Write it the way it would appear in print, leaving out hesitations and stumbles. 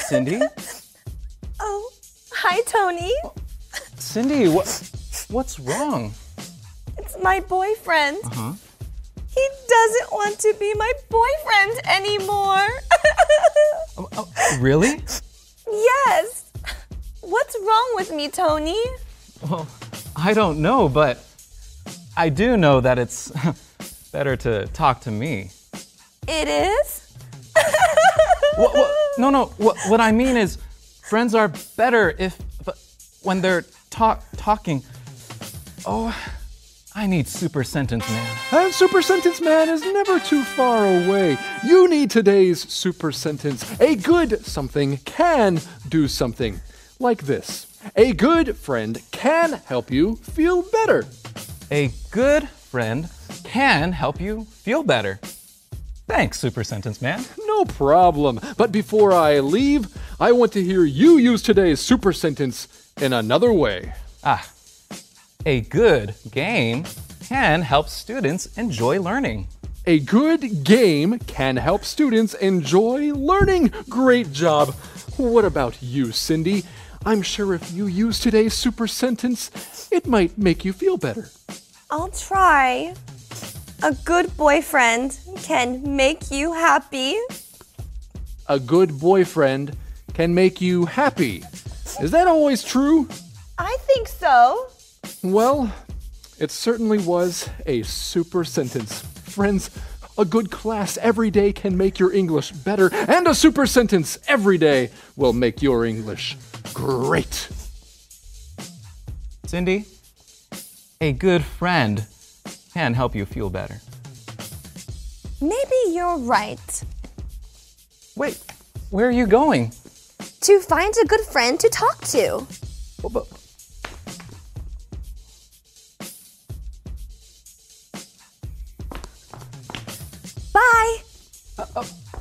Cindy? Oh, hi, Tony. Cindy, what's wrong? It's my boyfriend. Uh-huh. He doesn't want to be my boyfriend anymore. Really? Yes. What's wrong with me, Tony? Well, I don't know, but I do know that it's better to talk to me. It is? No. What I mean is, friends are better when they're talking. Oh, I need Super Sentence Man. And Super Sentence Man is never too far away. You need today's Super Sentence. A good something can do something. Like this. A good friend can help you feel better. A good friend can help you feel better. Thanks, Super Sentence Man. No problem. But before I leave, I want to hear you use today's Super Sentence in another way. A good game can help students enjoy learning. A good game can help students enjoy learning. Great job. What about you, Cindy? I'm sure if you use today's Super Sentence, it might make you feel better. I'll try. A good boyfriend can make you happy. A good boyfriend can make you happy. Is that always true? I think so. Well, it certainly was a super sentence. Friends, a good class every day can make your English better, and a super sentence every day will make your English great. Cindy, a good friend can help you feel better. Maybe you're right. Wait, where are you going? To find a good friend to talk to. Bye.